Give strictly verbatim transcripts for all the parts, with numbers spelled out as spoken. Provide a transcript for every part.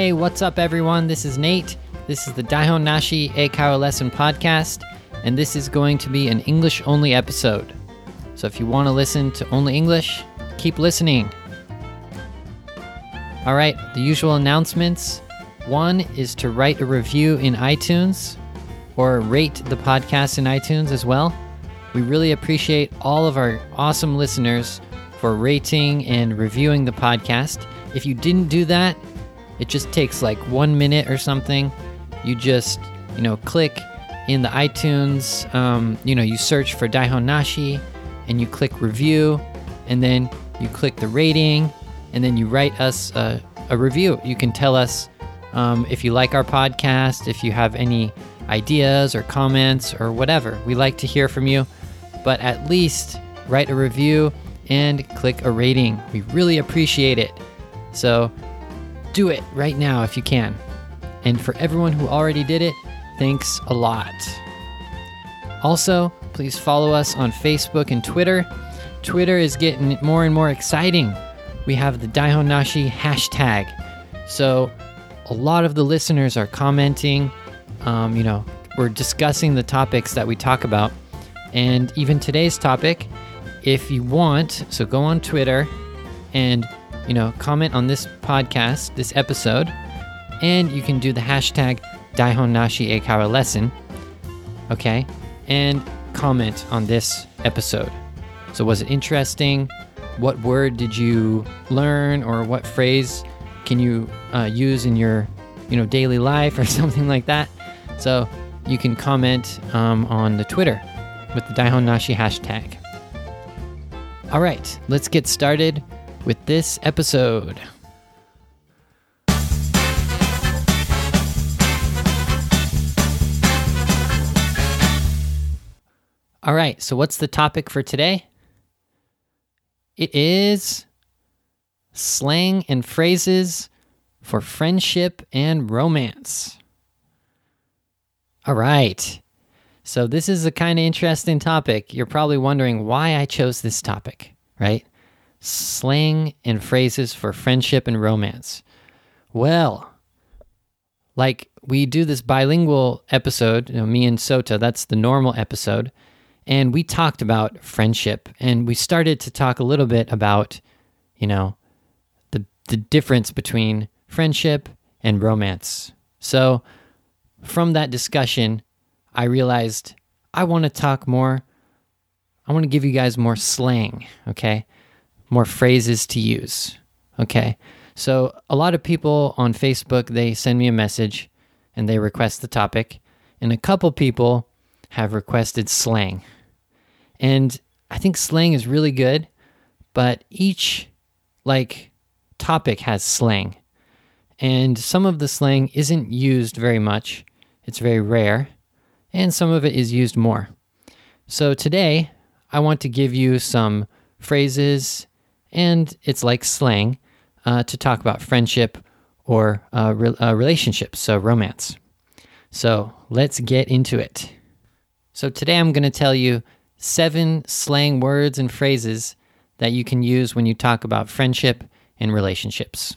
Hey, what's up, everyone? This is Nate. This is the Daihon Nashi Eikaiwa Lesson Podcast, and this is going to be an English-only episode. So if you want to listen to only English, keep listening. All right, the usual announcements. One is to write a review in iTunes or rate the podcast in iTunes as well. We really appreciate all of our awesome listeners for rating and reviewing the podcast. If you didn't do that, it just takes like one minute or something. You just, you know, click in the iTunes, um, you know, you search for Daihon Nashi and you click review, and then you click the rating, and then you write us a, a review. You can tell us um, if you like our podcast, if you have any ideas or comments or whatever. We like to hear from you, but at least write a review and click a rating. We really appreciate it. So do it right now if you can. And for everyone who already did it, thanks a lot. Also, please follow us on Facebook and Twitter. Twitter is getting more and more exciting. We have the Daihon Nashi hashtag. So a lot of the listeners are commenting. Um, you know, we're discussing the topics that we talk about. And even today's topic, if you want, so go on Twitter and, you know, comment on this podcast, this episode, and you can do the hashtag Daihon Nashi Eikaiwa Lesson, okay, and comment on this episode. So was it interesting? What word did you learn, or what phrase can you uh, use in your, you know, daily life or something like that? So you can comment um, on the Twitter with the Daihon Nashi hashtag. All right, let's get started with this episode. All right, so what's the topic for today? It is slang and phrases for friendship and romance. All right, so this is a kind of interesting topic. You're probably wondering why I chose this topic, right? Slang and phrases for friendship and romance. Well, like we do this bilingual episode, you know, me and Sota, that's the normal episode, and we talked about friendship, and we started to talk a little bit about, you know, the the difference between friendship and romance. So from that discussion, I realized I want to talk more, I want to give you guys more slang, okay? More phrases to use, okay? So a lot of people on Facebook, they send me a message and they request the topic, and a couple people have requested slang. And I think slang is really good, but each, like, topic has slang. And some of the slang isn't used very much. It's very rare. And some of it is used more. So today, I want to give you some phrases, and it's like slang, uh, to talk about friendship or uh, re- uh, relationships, so romance. So let's get into it. So today I'm going to tell you seven slang words and phrases that you can use when you talk about friendship and relationships.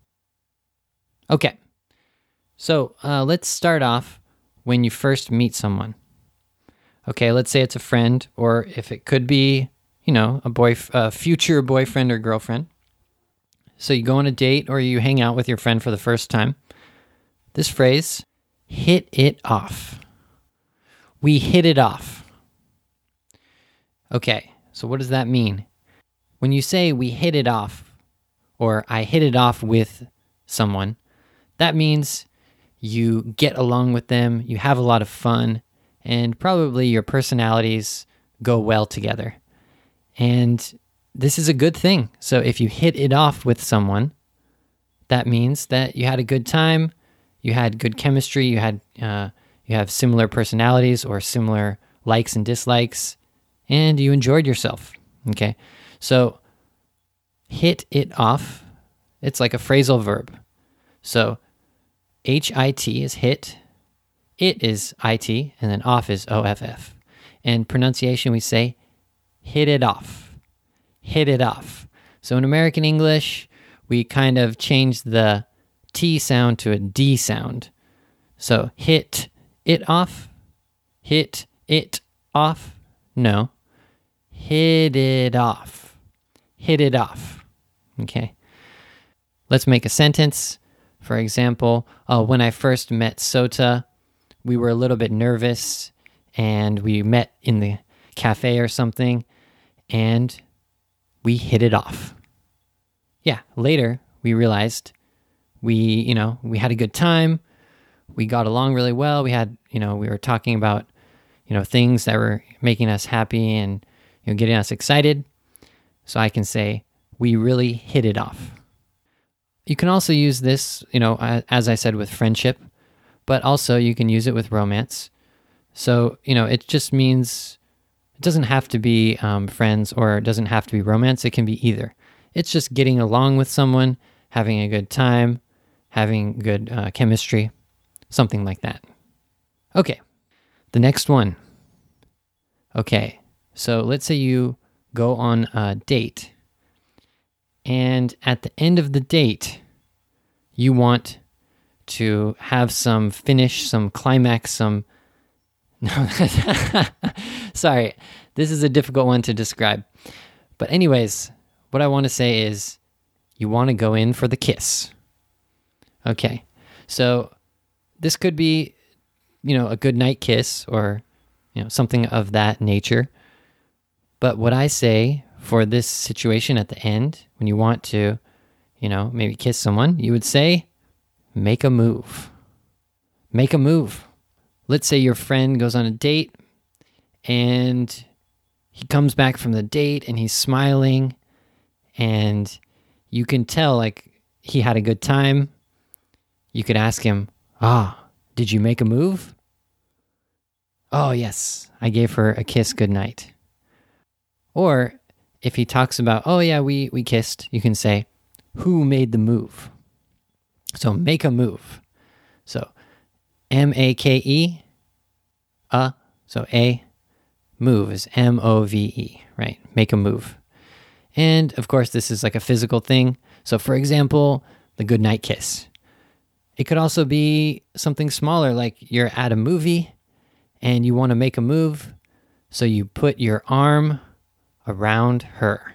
Okay, so uh, let's start off when you first meet someone. Okay, let's say it's a friend, or if it could be, you know, a boy, a future boyfriend or girlfriend. So you go on a date or you hang out with your friend for the first time. This phrase, hit it off. We hit it off. Okay, so what does that mean? When you say we hit it off, or I hit it off with someone, that means you get along with them, you have a lot of fun, and probably your personalities go well together. And this is a good thing. So if you hit it off with someone, that means that you had a good time, you had good chemistry, you had uh, you have similar personalities or similar likes and dislikes, and you enjoyed yourself. Okay, so hit it off, it's like a phrasal verb. So H I T is hit, it is I T, and then off is O F F. And pronunciation, we say hit it off, hit it off. So in American English, we kind of changed the T sound to a D sound. So hit it off, hit it off. No, hit it off, hit it off. Okay. Let's make a sentence. For example, uh, when I first met Sota, we were a little bit nervous and we met in the cafe or something and we hit it off. Yeah, later we realized we, you know, we had a good time. We got along really well. We had, you know, we were talking about, you know, things that were making us happy and, you know, getting us excited. So I can say, we really hit it off. You can also use this, you know, as I said, with friendship, but also you can use it with romance. So, you know, it just means it doesn't have to be um, friends or it doesn't have to be romance. It can be either. It's just getting along with someone, having a good time, having good uh, chemistry, something like that. Okay, the next one. Okay, so let's say you go on a date. And at the end of the date, you want to have some finish, some climax, some... No, sorry, this is a difficult one to describe. But anyways, what I want to say is you want to go in for the kiss. Okay, so this could be, you know, a good night kiss or, you know, something of that nature. But what I say for this situation at the end, when you want to, you know, maybe kiss someone, you would say, make a move. Make a move. Let's say your friend goes on a date and he comes back from the date and he's smiling and you can tell like he had a good time. You could ask him, ah, did you make a move? Oh, yes, I gave her a kiss goodnight. Or if he talks about, oh yeah, we, we kissed, you can say, who made the move? So make a move. So M A K E, a, so a, move is M O V E, right? Make a move. And of course, this is like a physical thing. So for example, the goodnight kiss. It could also be something smaller, like you're at a movie and you want to make a move. So you put your arm around her.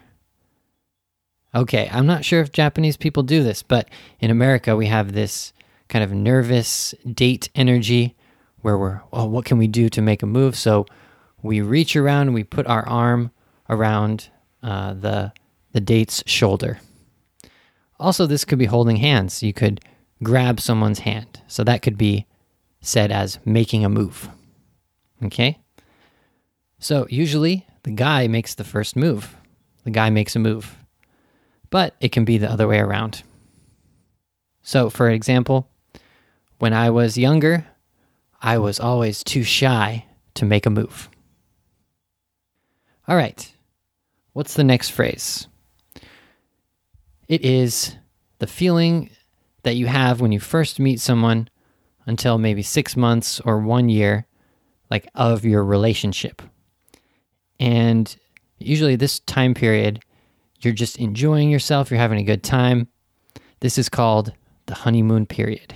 Okay, I'm not sure if Japanese people do this, but in America we have this kind of nervous date energy where we're, oh, what can we do to make a move? So we reach around and we put our arm around uh, the the date's shoulder. Also, this could be holding hands. You could grab someone's hand. So that could be said as making a move. Okay? So usually the guy makes the first move. The guy makes a move. But it can be the other way around. So for example, when I was younger, I was always too shy to make a move. All right. What's the next phrase? It is the feeling that you have when you first meet someone until maybe six months or one year, like of your relationship. And usually this time period, you're just enjoying yourself, you're having a good time. This is called the honeymoon period.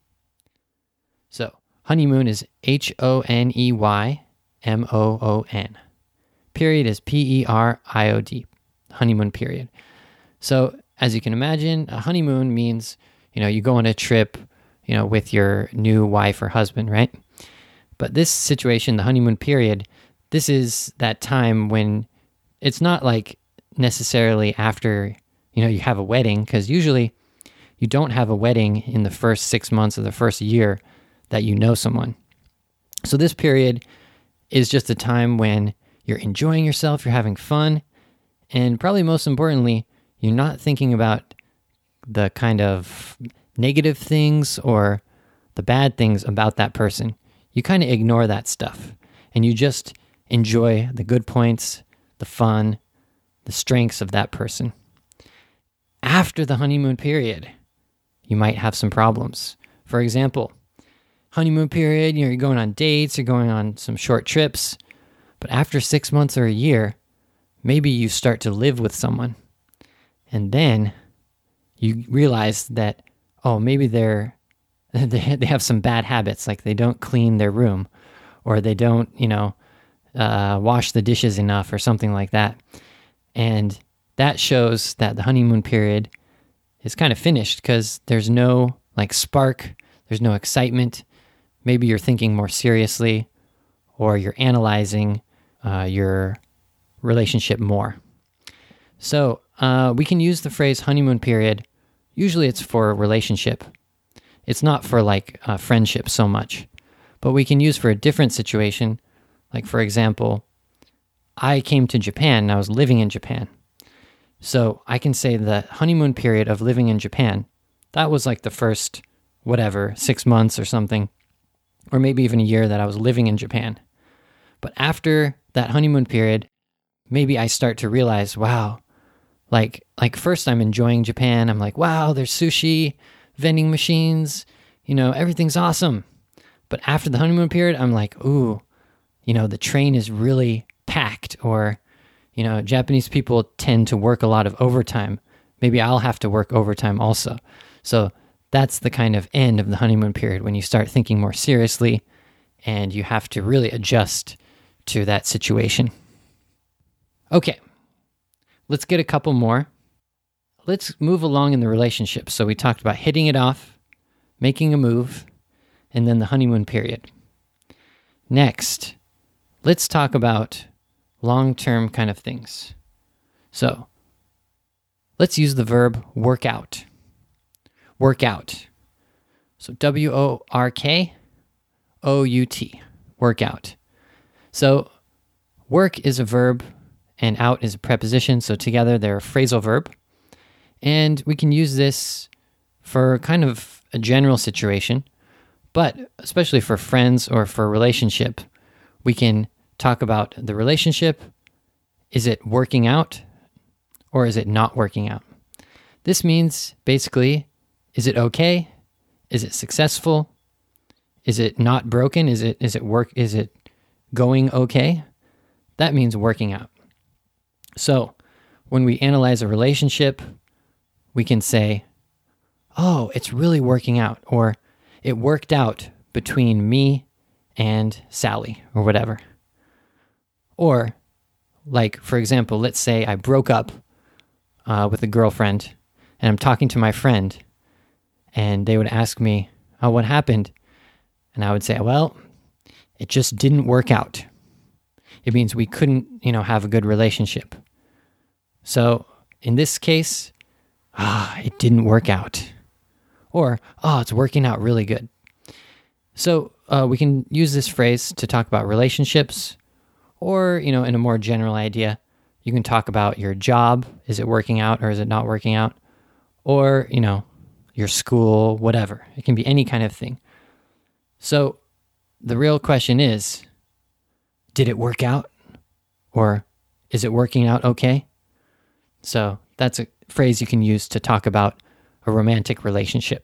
So honeymoon is H O N E Y M O O N. Period is P E R I O D, honeymoon period. So as you can imagine, a honeymoon means, you know, you go on a trip, you know, with your new wife or husband, right? But this situation, the honeymoon period, this is that time when it's not like necessarily after, you know, you have a wedding, because usually you don't have a wedding in the first six months of the first year that you know someone. So this period is just a time when you're enjoying yourself, you're having fun, and probably most importantly, you're not thinking about the kind of negative things or the bad things about that person. You kind of ignore that stuff, and you just enjoy the good points, the fun, the strengths of that person. After the honeymoon period, you might have some problems. For example, honeymoon period, you know, you're going on dates, you're going on some short trips, but after six months or a year, maybe you start to live with someone. And then you realize that, oh, maybe they're they they have some bad habits, like they don't clean their room, or they don't, you know, uh, wash the dishes enough, or something like that. And that shows that the honeymoon period is kind of finished because there's no like spark, there's no excitement. Maybe you're thinking more seriously, or you're analyzing uh, your relationship more. So uh, we can use the phrase honeymoon period. Usually it's for a relationship. It's not for like uh, friendship so much, but we can use for a different situation. Like, for example, I came to Japan and I was living in Japan. So I can say the honeymoon period of living in Japan, that was like the first, whatever, six months or something, or maybe even a year that I was living in Japan. But after that honeymoon period, maybe I start to realize, wow, like, like first I'm enjoying Japan. I'm like, wow, there's sushi, vending machines, you know, everything's awesome. But after the honeymoon period, I'm like, ooh, you know, the train is really packed, or, you know, Japanese people tend to work a lot of overtime. Maybe I'll have to work overtime also. So that's the kind of end of the honeymoon period, when you start thinking more seriously and you have to really adjust to that situation. Okay, let's get a couple more. Let's move along in the relationship. So we talked about hitting it off, making a move, and then the honeymoon period. Next, let's talk about long-term kind of things. So let's use the verb work out. Work out. So W O R K O U T, work out. So work is a verb and out is a preposition. So together they're a phrasal verb. And we can use this for kind of a general situation, but especially for friends or for a relationship, we can talk about the relationship. Is it working out or is it not working out? This means basically, is it okay? Is it successful? Is it not broken? Is it is it work is it going okay? That means working out. So, when we analyze a relationship, we can say, "Oh, it's really working out," or "It worked out between me and Sally," or whatever. Or, like, for example, let's say I broke up uh, with a girlfriend and I'm talking to my friend and they would ask me, "Oh, what happened?" And I would say, "Well, it just didn't work out." It means we couldn't, you know, have a good relationship. So in this case, ah, it didn't work out. Or, oh, it's working out really good. So uh, we can use this phrase to talk about relationships, or, you know, in a more general idea, you can talk about your job. Is it working out or is it not working out? Or, you know, your school, whatever. It can be any kind of thing. So the real question is, did it work out? Or is it working out okay? So that's a phrase you can use to talk about a romantic relationship.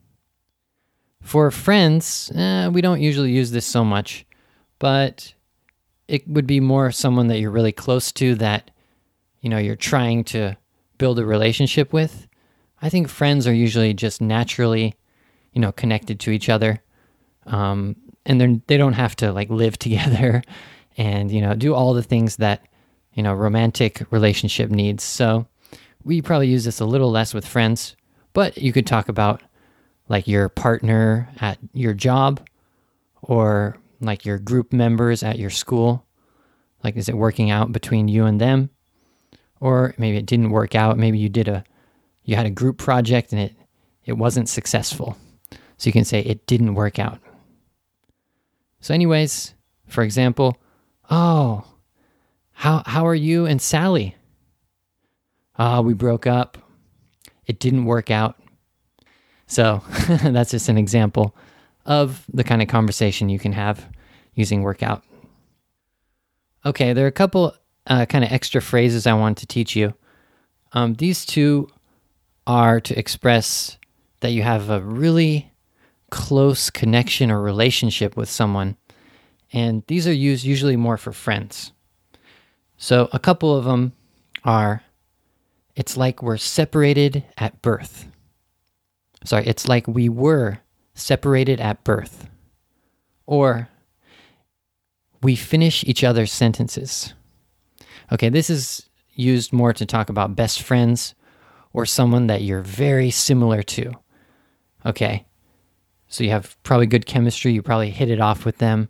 For friends, eh, we don't usually use this so much, but it would be more someone that you're really close to, that, you know, you're trying to build a relationship with. I think friends are usually just naturally, you know, connected to each other. Um, and they're, they don't have to like live together and, you know, do all the things that, you know, romantic relationship needs. So we probably use this a little less with friends, but you could talk about like your partner at your job, or like your group members at your school. Like, is it working out between you and them? Or maybe it didn't work out. Maybe you did a, you had a group project and it, it wasn't successful. So you can say it didn't work out. So anyways, for example, oh, how how are you and Sally? Ah, oh, we broke up. It didn't work out. So that's just an example of the kind of conversation you can have using workout. Okay, there are a couple uh, kind of extra phrases I want to teach you. Um, these two are to express that you have a really close connection or relationship with someone. And these are used usually more for friends. So a couple of them are, it's like we're separated at birth. sorry, it's like we were separated at birth. Or we finish each other's sentences. Okay, this is used more to talk about best friends or someone that you're very similar to. Okay, so you have probably good chemistry, you probably hit it off with them.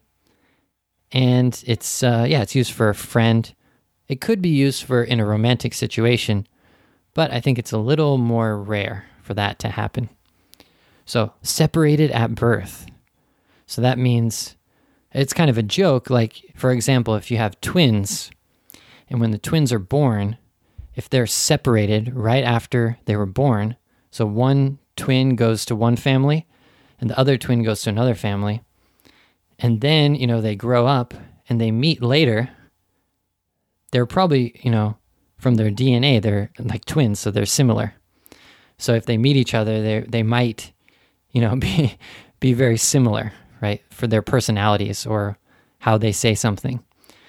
And it's, uh, yeah, it's used for a friend. It could be used for in a romantic situation, but I think it's a little more rare for that to happen. So, separated at birth. So that means it's kind of a joke. Like, for example, if you have twins, and when the twins are born, if they're separated right after they were born, so one twin goes to one family, and the other twin goes to another family, and then, you know, they grow up and they meet later, they're probably, you know, from their D N A, they're like twins, so they're similar. So if they meet each other, they they might, you know, be be very similar, right, for their personalities or how they say something.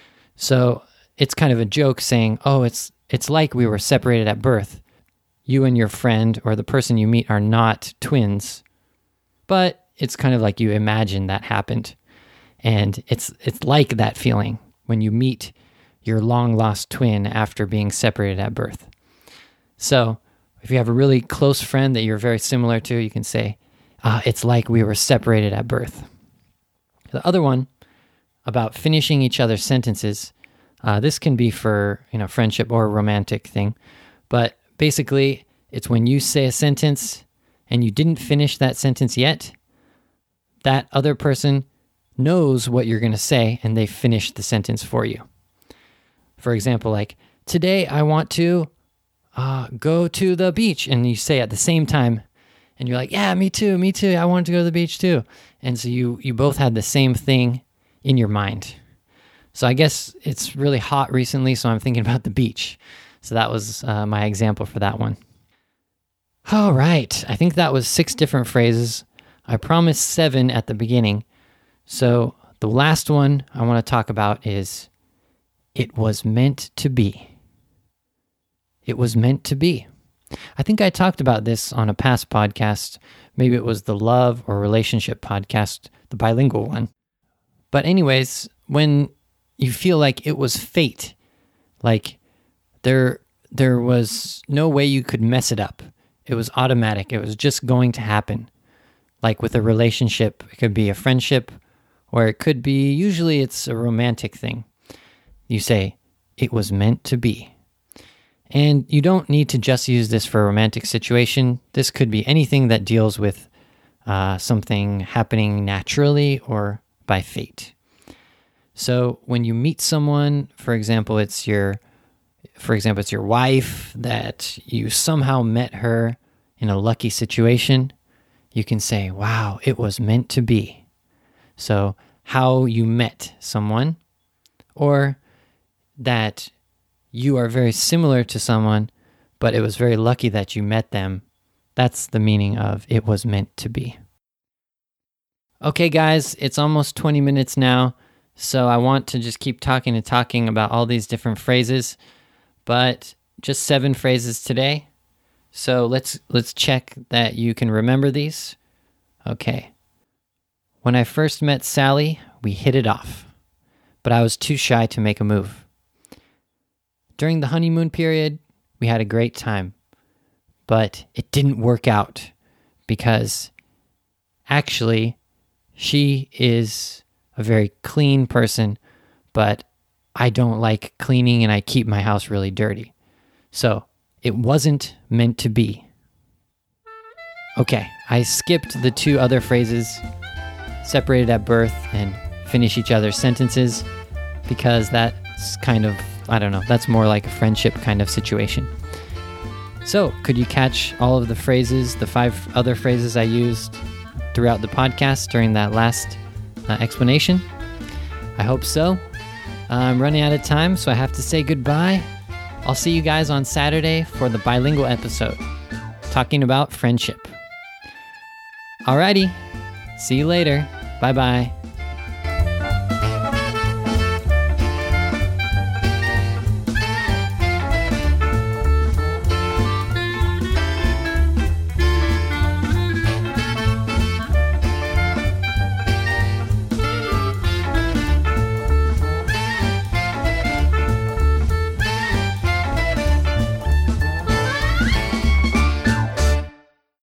So it's kind of a joke saying, oh, it's it's like we were separated at birth. You and your friend or the person you meet are not twins, but it's kind of like you imagine that happened. And it's it's like that feeling when you meet your long-lost twin after being separated at birth. So if you have a really close friend that you're very similar to, you can say, ah, it's like we were separated at birth. The other one, about finishing each other's sentences, uh, this can be for, you know, friendship or a romantic thing, but basically it's when you say a sentence and you didn't finish that sentence yet, that other person knows what you're going to say and they finish the sentence for you. For example, like, today I want to uh, go to the beach. And you say at the same time, and you're like, yeah, me too, me too. I want to go to the beach too. And so you, you both had the same thing in your mind. So I guess it's really hot recently, so I'm thinking about the beach. So that was uh, my example for that one. All right. I think that was six different phrases. I promised seven at the beginning. So the last one I want to talk about is, it was meant to be. It was meant to be. I think I talked about this on a past podcast. Maybe it was the love or relationship podcast, the bilingual one. But anyways, when you feel like it was fate, like there, there was no way you could mess it up. It was automatic. It was just going to happen. Like with a relationship, it could be a friendship, or it could be, usually it's a romantic thing. You say, it was meant to be. And you don't need to just use this for a romantic situation. This could be anything that deals with uh, something happening naturally or by fate. So when you meet someone, for example, it's your, for example, it's your wife that you somehow met her in a lucky situation, you can say, wow, it was meant to be. So how you met someone, or that you are very similar to someone, but it was very lucky that you met them. That's the meaning of it was meant to be. Okay, guys, it's almost twenty minutes now, so I want to just keep talking and talking about all these different phrases, but just seven phrases today. So let's let's check that you can remember these. Okay. When I first met Sally, we hit it off, but I was too shy to make a move. During the honeymoon period, we had a great time, but it didn't work out because actually she is a very clean person, but I don't like cleaning and I keep my house really dirty. So it wasn't meant to be. Okay, I skipped the two other phrases, separated at birth and finish each other's sentences, because that's kind of, I don't know, that's more like a friendship kind of situation. So, could you catch all of the phrases, the five other phrases I used throughout the podcast during that last uh, explanation? I hope so. Uh, I'm running out of time, so I have to say goodbye. I'll see you guys on Saturday for the bilingual episode, talking about friendship. Alrighty, see you later. Bye-bye.